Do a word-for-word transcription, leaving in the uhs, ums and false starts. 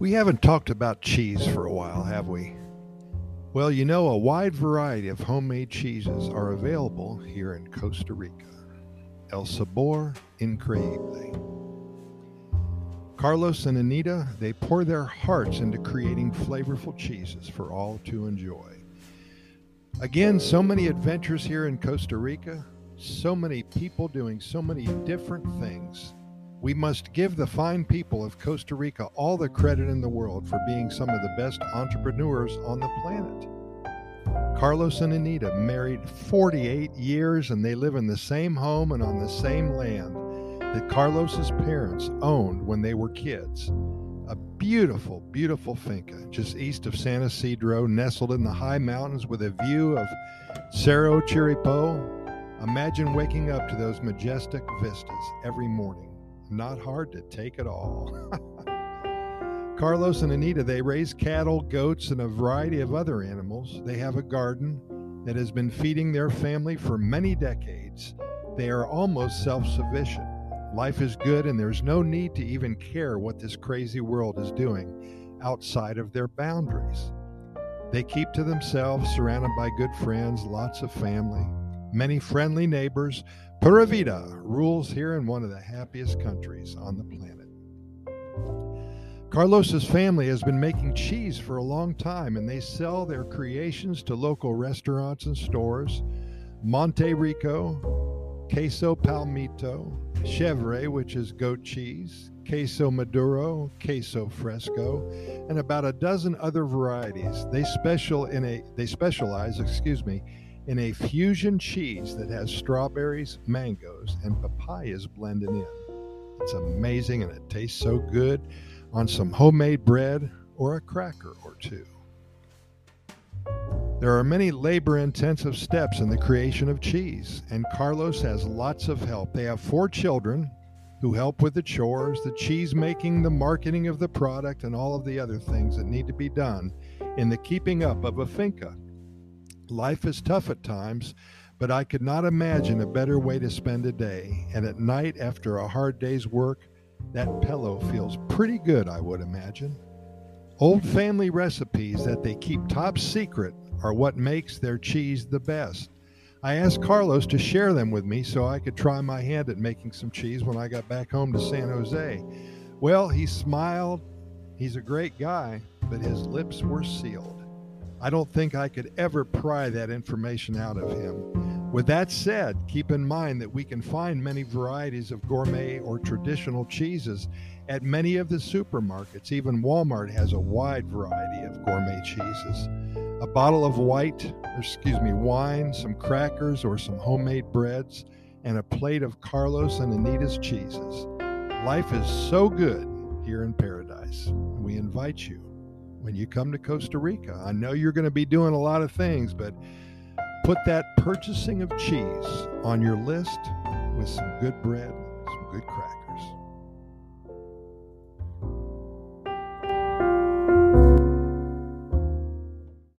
We haven't talked about cheese for a while, have we? Well, you know, a wide variety of homemade cheeses are available here in Costa Rica. El sabor increíble. Carlos and Anita, they pour their hearts into creating flavorful cheeses for all to enjoy. Again, so many adventures here in Costa Rica, so many people doing so many different things. We must give the fine people of Costa Rica all the credit in the world for being some of the best entrepreneurs on the planet. Carlos and Anita married forty-eight years, and they live in the same home and on the same land that Carlos's parents owned when they were kids. A beautiful, beautiful finca just east of San Isidro, nestled in the high mountains with a view of Cerro Chirripó. Imagine waking up to those majestic vistas every morning. Not hard to take at all. Carlos and Anita, they raise cattle, goats, and a variety of other animals. They have a garden that has been feeding their family for many decades. They are almost self-sufficient. Life is good, and there's no need to even care what this crazy world is doing outside of their boundaries. They keep to themselves, surrounded by good friends, lots of family, many friendly neighbors. Pura Vida rules here in one of the happiest countries on the planet. Carlos's family has been making cheese for a long time, and they sell their creations to local restaurants and stores. Monte Rico, Queso Palmito, Chevre, which is goat cheese, Queso Maduro, Queso Fresco, and about a dozen other varieties. They special in a they specialize, excuse me, in a fusion cheese that has strawberries, mangoes, and papayas blended in. It's amazing, and it tastes so good on some homemade bread or a cracker or two. There are many labor-intensive steps in the creation of cheese, and Carlos has lots of help. They have four children who help with the chores, the cheese making, the marketing of the product, and all of the other things that need to be done in the keeping up of a finca. Life is tough at times, but I could not imagine a better way to spend a day. And at night, after a hard day's work, that pillow feels pretty good, I would imagine. Old family recipes that they keep top secret are what makes their cheese the best. I asked Carlos to share them with me so I could try my hand at making some cheese when I got back home to San Jose. Well, he smiled. He's a great guy, but his lips were sealed. I don't think I could ever pry that information out of him. With that said, keep in mind that we can find many varieties of gourmet or traditional cheeses at many of the supermarkets. Even Walmart has a wide variety of gourmet cheeses. A bottle of white, or excuse me, wine, some crackers or some homemade breads, and a plate of Carlos and Anita's cheeses. Life is so good here in paradise. We invite you, when you come to Costa Rica, I know you're going to be doing a lot of things, but put that purchasing of cheese on your list with some good bread, some good crackers.